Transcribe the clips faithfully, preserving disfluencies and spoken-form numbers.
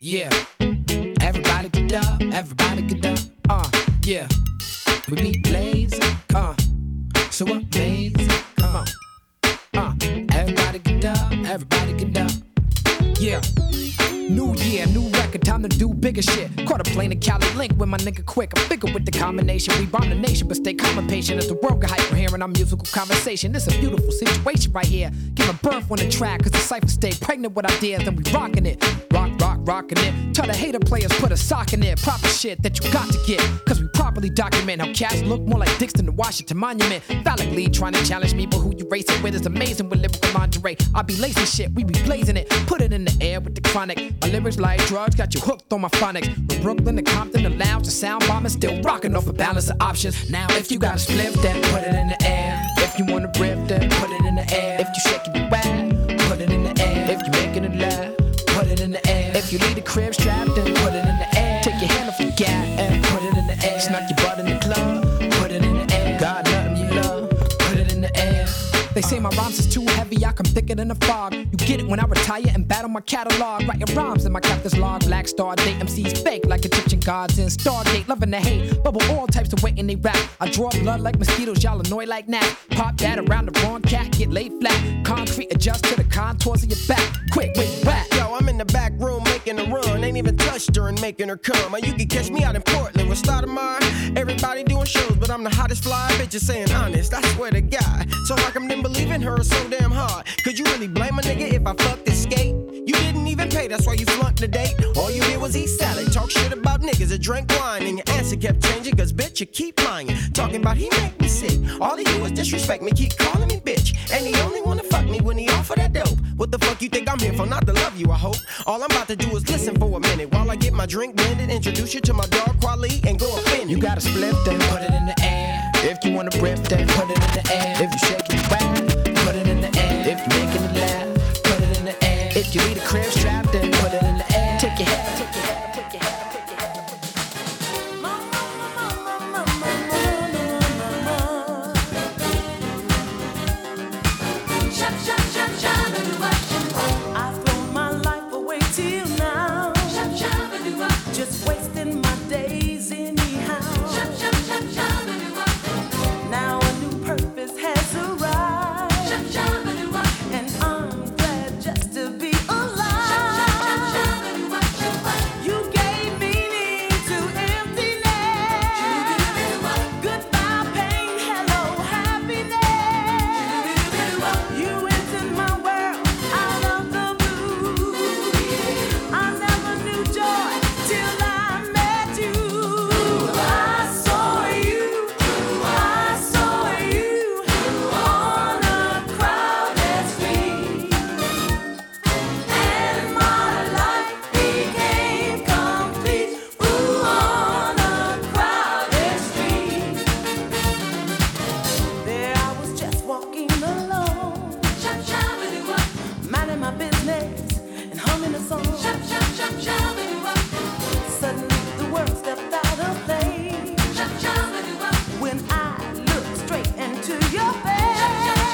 Yeah. Everybody get up, everybody get up. Uh, yeah. We be blazing, uh. So amazing, come on. Uh, everybody get up, everybody get up. Yeah. New year, new record, time to do bigger shit. Caught a plane to Cali Link with my nigga Quick. I'm bigger with the combination. We bomb the nation, but stay calm and patient as the world get hype for hearing our musical conversation. It's a beautiful situation right here. Giving birth on the track, cause the cypher stay pregnant with ideas and we rocking it. Rock, rock, rocking it. Tell the hater players put a sock in it. Proper shit that you got to get. Cause we properly document how cats look more like dicks than the Washington Monument. Validly trying to challenge me, but who you racing with is amazing with lyrical lingerie. I be lacing shit, we be blazing it. Put it in the air with the chronic. My lyrics like drugs, got you hooked on my phonics. From Brooklyn to Compton, the lounge, the sound bomb is still rocking off a balance of options. Now if you got a split, then put it in the air. If you wanna rip, then put it in the air. If you shaking your wag, put it in the air. If you making it laugh, put it in the air. If you leave the crib strapped, then put it in the air. Take your hand off your gas and put it in the air. Snuck your butt in the club, put it in the air. God nothing you love, put it in the air. They say my rhymes is too heavy, I come thicker than a fog. You get it when I retire and battle my catalog. Writing rhymes in my captain's log. Black Star date M Cs fake like Egyptian gods in Stargate. Loving the hate, bubble all types of weight in they rap. I draw blood like mosquitoes, y'all annoy like gnats. Pop that around the wrong cat, get laid flat. Concrete adjust to the contours of your back. Quick, wait, rap. Yo, I'm in the back room making a run. Ain't even touched her and making her come. Or you can catch me out in Portland with Stoudemire. Everybody doing shows, but I'm the hottest fly. Bitch, just saying honest, I swear to God. So how come them believe in her so damn hard? Could you really blame a nigga if I fucked this skate? You didn't even pay, that's why you flunked the date. All you did was eat salad, talk shit about niggas that drank wine. And your answer kept changing, cause bitch, you keep lying. Talking about he make me sick. All he do is disrespect me, keep calling me bitch. And he only wanna fuck me when he offer that dope. What the fuck you think I'm here for? Not to love you, I hope. All I'm about to do is listen for a minute while I get my drink blended. Introduce you to my dog Quali and go offend you. You got a split, then put it in the air. If you wanna rip, then put it in the air. If you shake it back, put it in the air. If you making it laugh, put it in the air. If you leave the crib strapped, then put it in the air. Take your head, take your head, take your head, take your head. Shut, shut, shut, shut, I've thrown my life away till now. Shut, shut, just wasting my days anyhow. Shut, shut, shut, shut, now a new purpose has arrived. Shut, shut, and I'm glad just to be alive. You gave meaning to emptiness. Goodbye pain, hello happiness. You entered my world out of the blue. I never knew joy till I met you. I saw you, I saw you on a crowded street, and my life became complete. Ooh, on a crowded street. There I was just walking alone, minding my business and humming a song. Suddenly the world stepped out of place when I looked straight into your face.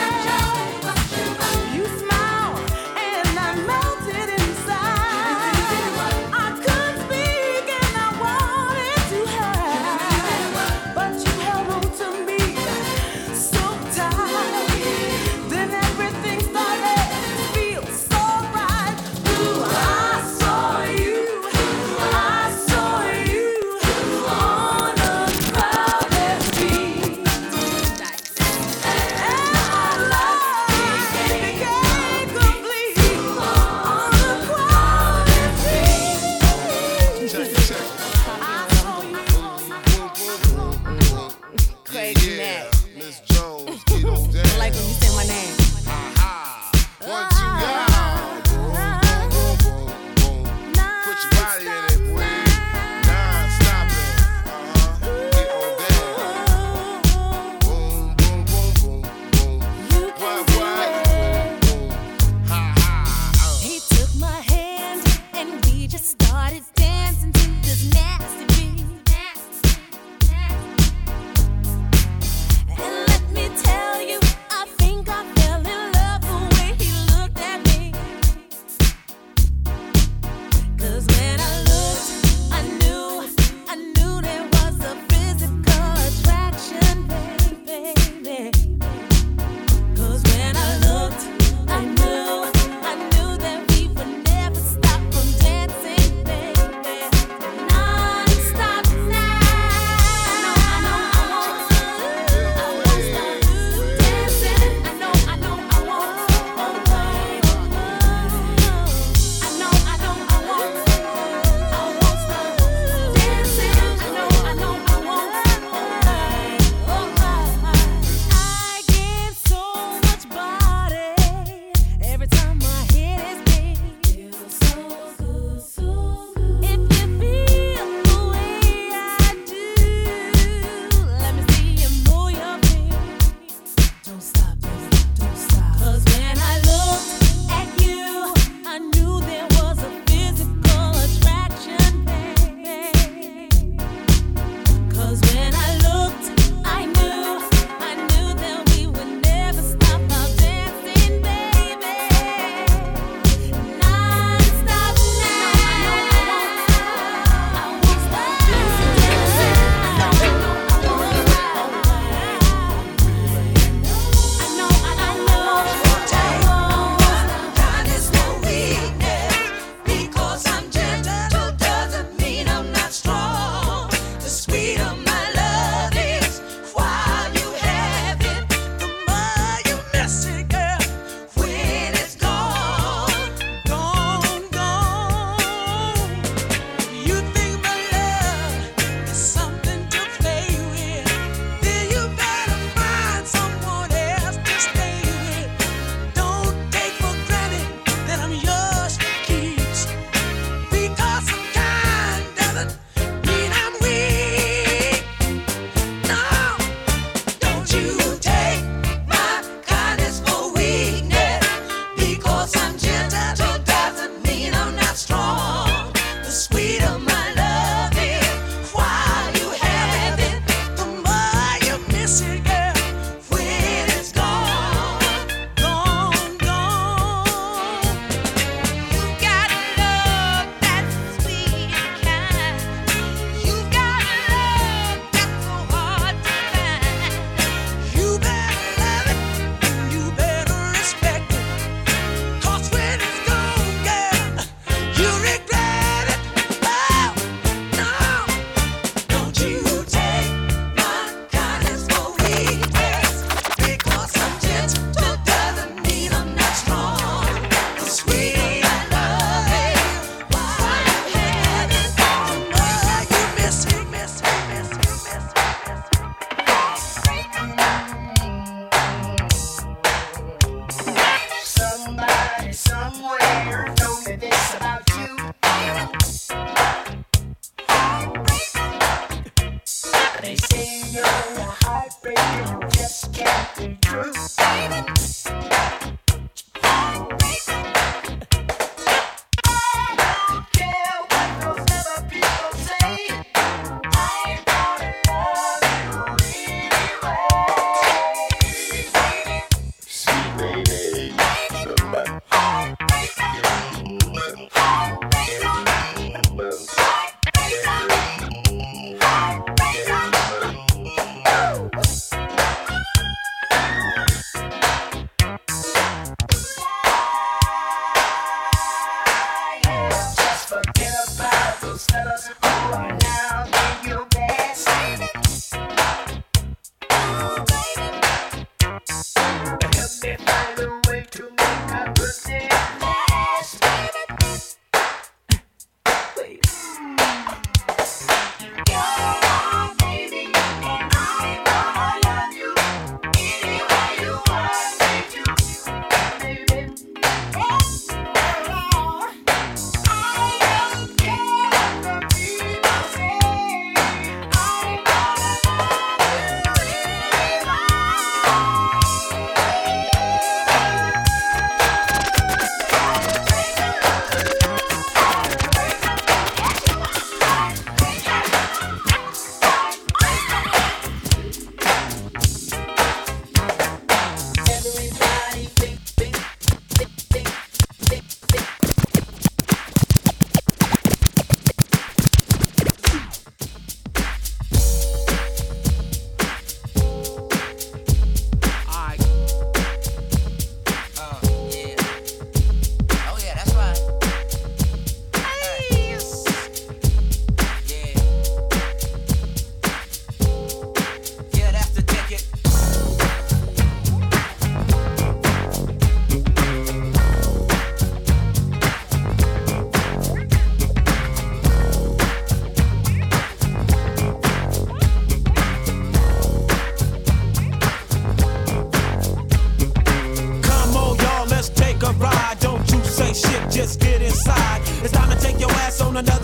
You smiled and I melted inside. I couldn't speak and I wanted to hide, but you held on to me so tight. Then everything started to feel so right. Ooh, I saw you, I saw you on a crowded street, and my life became complete on a crowded street. I saw you. Crazy Mac. Miss Jones, get on down. I like when you say my name. Aha. One, two, yeah. Boom, boom, boom, boom, boom. Put your body in it, boy. Non-stop it. Uh-huh. Get on down. Boom, boom, boom, boom, boom. What, what? Boom, boom. Ha, ha. Uh. He took my hand and we just started dancing to this nasty beat. And let me tell you, I think I fell in love the way he looked at me. 'Cause when I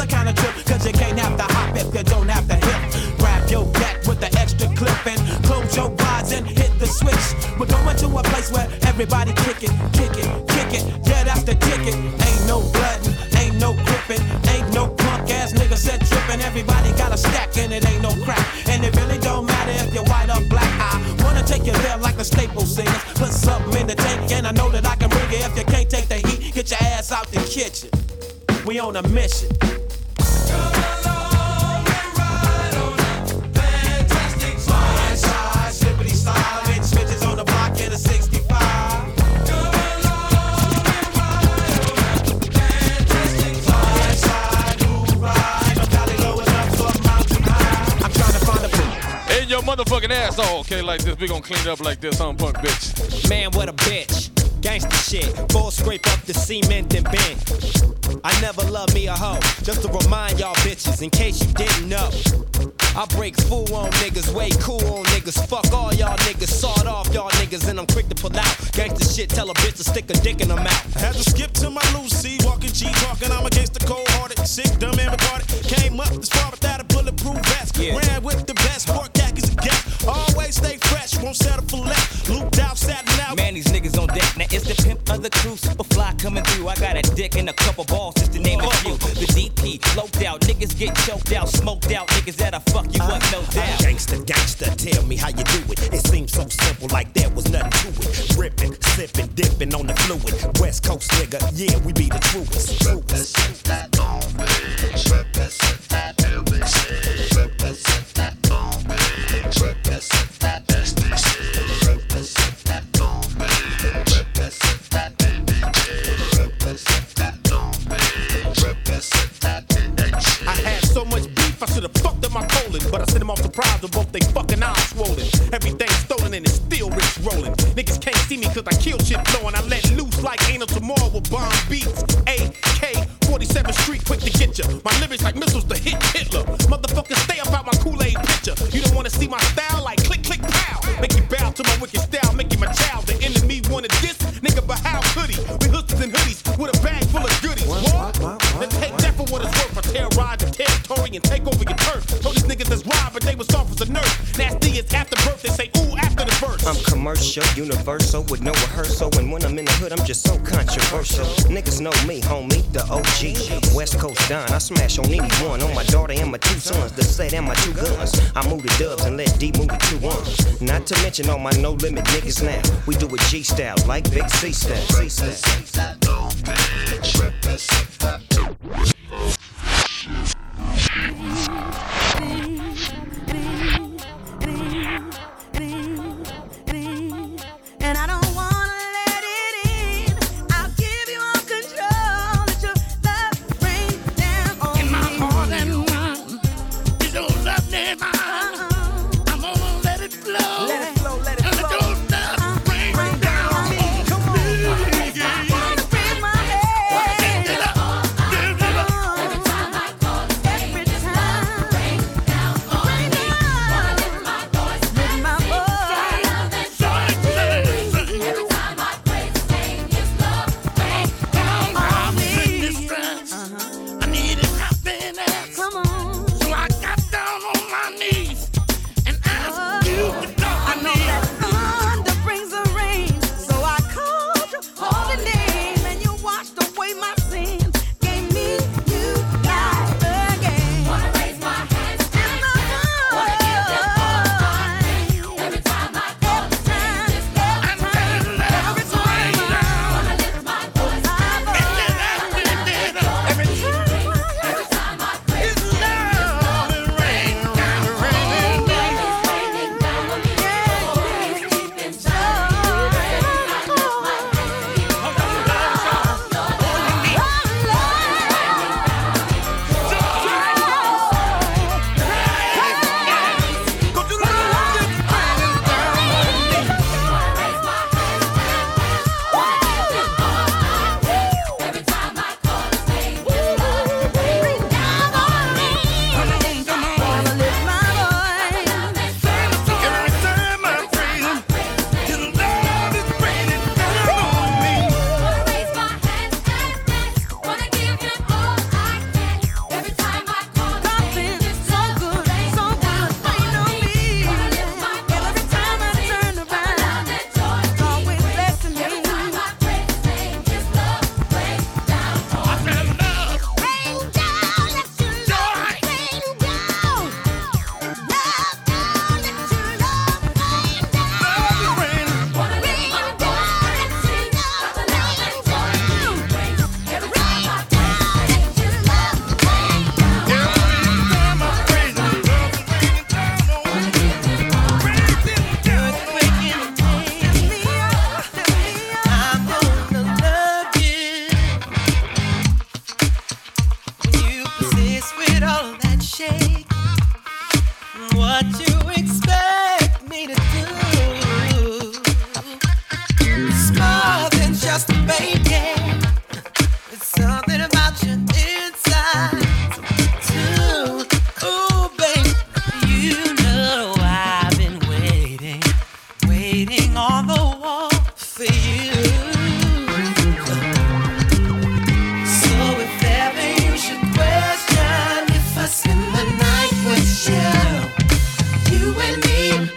other kind of trip, cause you can't have to hop if you don't have to hip. Grab your gat with the extra clip and close your eyes and hit the switch. We're going to a place where everybody kick it, kick it, kick it. Yeah, that's the ticket. Ain't no bloodin', ain't no gripping, ain't no punk ass nigga set trippin'. Everybody got a stack and it ain't no crack. And it really don't matter if you're white or black. I wanna take you there like the Staples singers. Put something in the tank and I know that I can bring it. If you can't take the heat, get your ass out the kitchen. We on a mission. Your motherfucking ass all okay like this. We gon' clean it up like this, huh, punk bitch? Man, what a bitch. Gangsta shit. Full scrape up the cement and bend. I never loved me a hoe. Just to remind y'all bitches, in case you didn't know. I break fool on niggas, way cool on niggas. Fuck all y'all niggas, sawed off y'all niggas, and I'm quick to pull out. Gangsta shit, tell a bitch to stick a dick in her mouth. Had to skip to my Lucy, walking G, talking. I'm against the cold-hearted, sick, dumb, and retarded. Came up this far without a bulletproof vest. Yeah. Ran with the best, sport khakis and guest. Always stay fresh, won't settle for less. Looped out, satin out. Man, these niggas on deck. Now it's the pimp of the crew, super fly coming through. I got a dick and a couple balls, just to name a few. The D P, loped out, niggas get choked out, smoked out, niggas that'll fuck you up, no doubt. Gangsta, gangsta, tell me how you do it. It seems so simple, like there was nothing to it. Ripping, sipping, dipping on the fluid. West Coast nigga, yeah, we be the truest. truest. Represent that Long Beach, represent that L B C, represent that Long Beach, represent that S D C, represent that Long Beach, represent that A B G, represent that Long Beach, represent that N H C. I had so much beef, I should've fucked up my colon, but I sent them off surprised with both they fucking eyes swollen. Everything stolen and it's still rich rolling. Niggas can't see me cause I kill shit flowing. I let loose like ain't no tomorrow with bomb beats. A K forty-seventh Street, quick to get ya. My lyrics like missiles to hit Hitler. Motherfuckers, stay up out my Kool-Aid picture. You don't wanna see my style like click, click, pow. Make you bow to my wicked style, make you my child. The enemy wanted this, nigga, but how could he? We hoodies and hoodies with a bag full of goodies. What? Then take that for what it's worth. I terrorize the territory and take over your turf. Told these niggas that's wild, but they was soft as a nerve. Nasty is after birth, they say ooh after the birth. I'm commercial, universal, with no rehearsal. And when I'm in the hood, I'm just so controversial. Niggas know me, homie, the O G. West Coast Don, I smash on anyone. On my daughter and my two sons, the set and my two guns. I move the dubs and let D move the two ones. Not to mention all my no limit niggas now. We do it G style, like Big C style. C style. Represent that Long Beach, represent that. And I don't wanna let it in. I'll give you all control. Let your love rain down on me. In my heart and mind is your love name. I'm gonna let it flow. Let it flow, let it flow. Let your love rain, rain down on me. Come on. I wanna raise my head. Give it up, give it up. with all of that shake. What you expect me to do? It's more than just a baby. It's something about your inside too. Ooh, baby, you know I've been waiting, waiting on the wall for you. So if ever you should question if I spend the night with you, you and me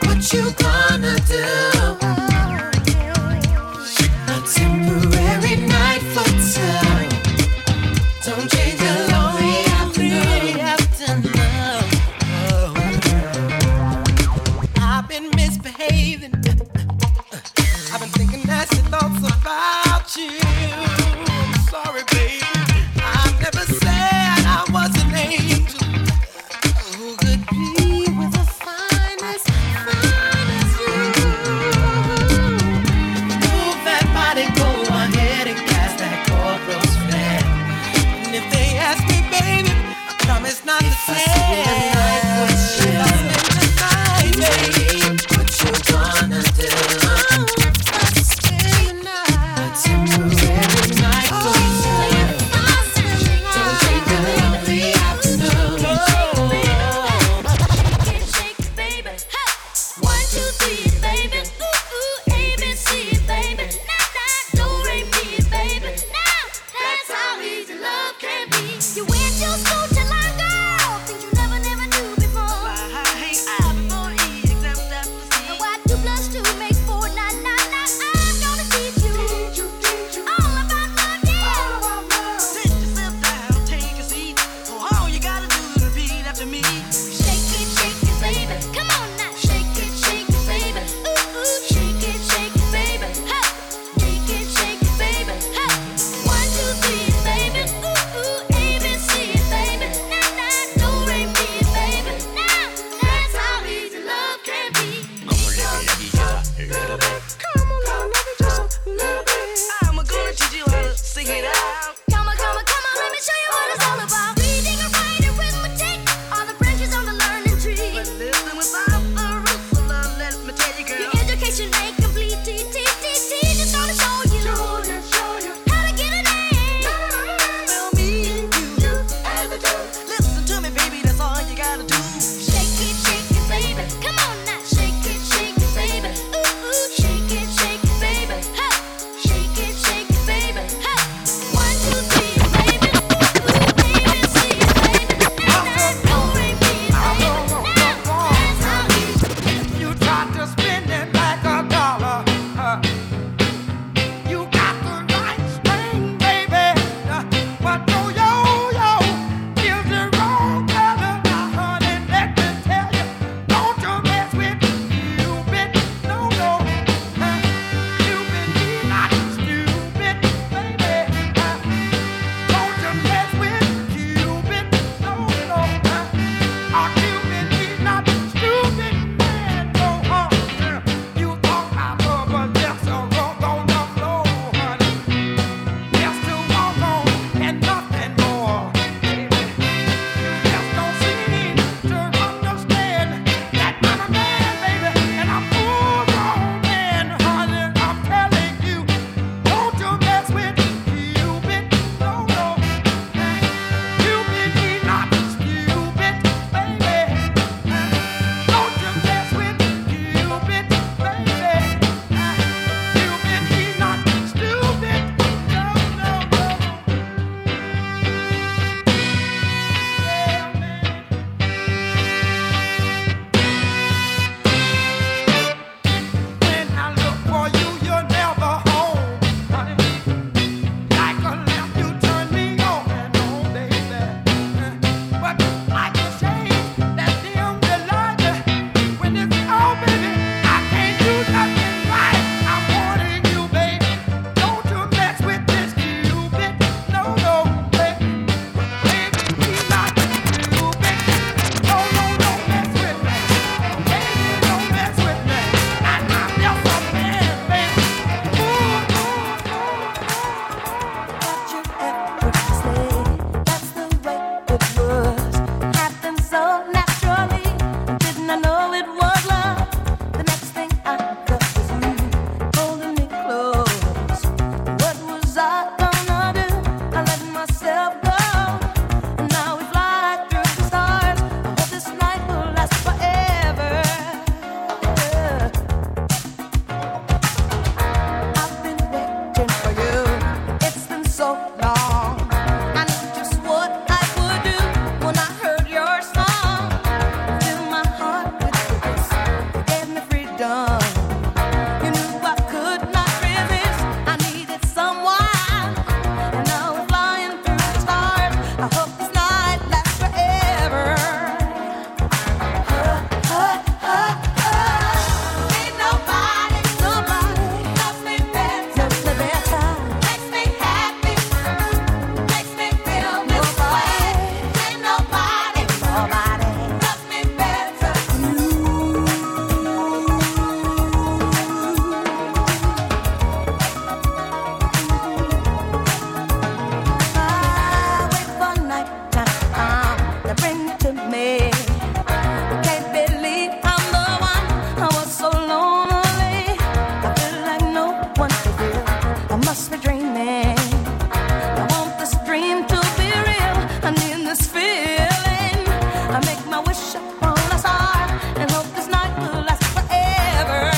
feeling. I make my wish upon a star and hope this night will last forever.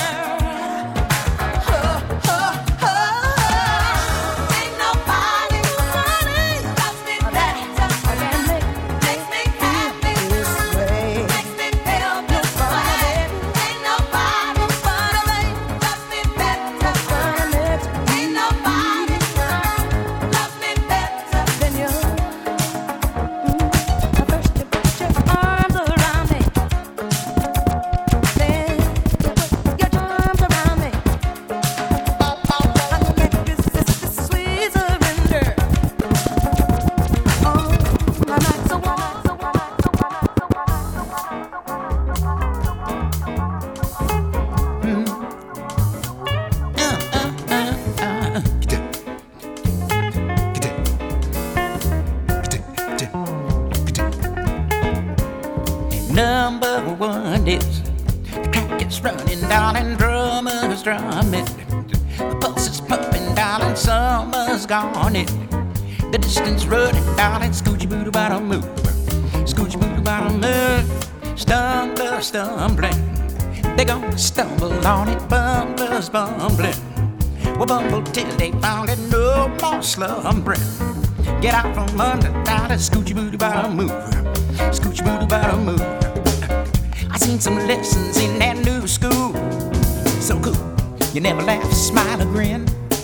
Oh, oh, oh, oh. Ain't nobody loves me better than me. Makes me happy this way. Makes me feel this way. Ain't nobody loves me better than me. Ain't nobody loves me better than you. First you put your arms around me, then you put your arms around me. I can't resist this sweet surrender. Oh, my night's so warm, so warm, so Number one is the track is running down and drummers drumming. The pulse is pumping down and summer's gone it. The distance running down and scoochie booty bottom move. Scoochie booty bottom move. Stumbler stumbling. They gonna stumble on it. Bumblers bumbling. We'll bumble till they found it. No more slumbering. Get out from under down and scoochie booty bottom move. Scoochie booty bottom move. I seen some lessons in that new school. So cool. You never laugh, smile, or grin.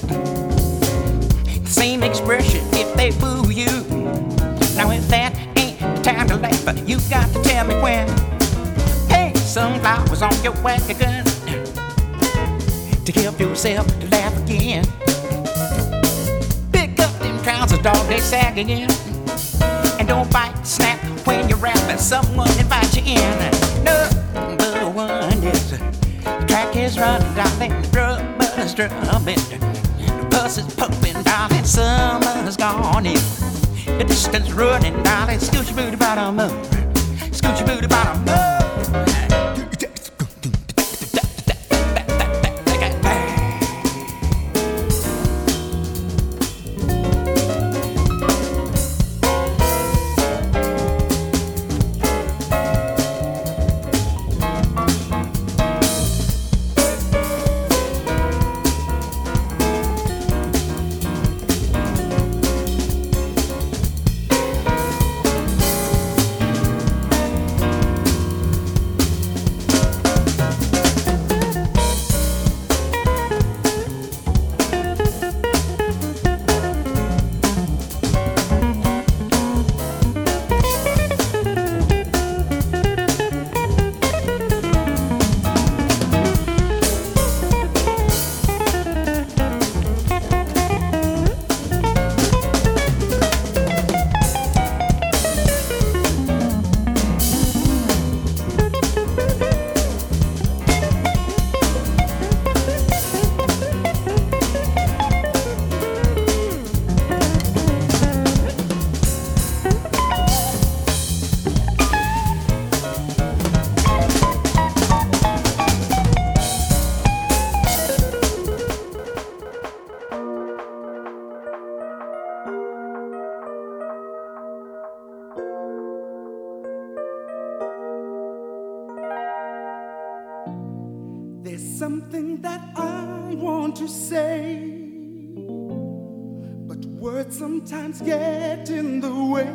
The same expression if they boo you. Now if that ain't the time to laugh, you got to tell me when. Hey, sunflowers on your wagon to help yourself to laugh again. Pick up them trousers, dog, they sag again. And don't bite, snap when you're rapping. Someone invite you in. Number one is the track is running down and the drummers drumming. The bus is pumping down and summer's gone in. The distance running down and scoochie booty bottom move. Scoochie booty bottom move. There's something that I want to say, but words sometimes get in the way.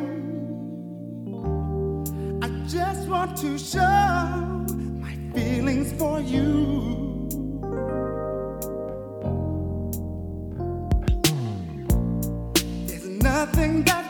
I just want to show my feelings for you. There's nothing that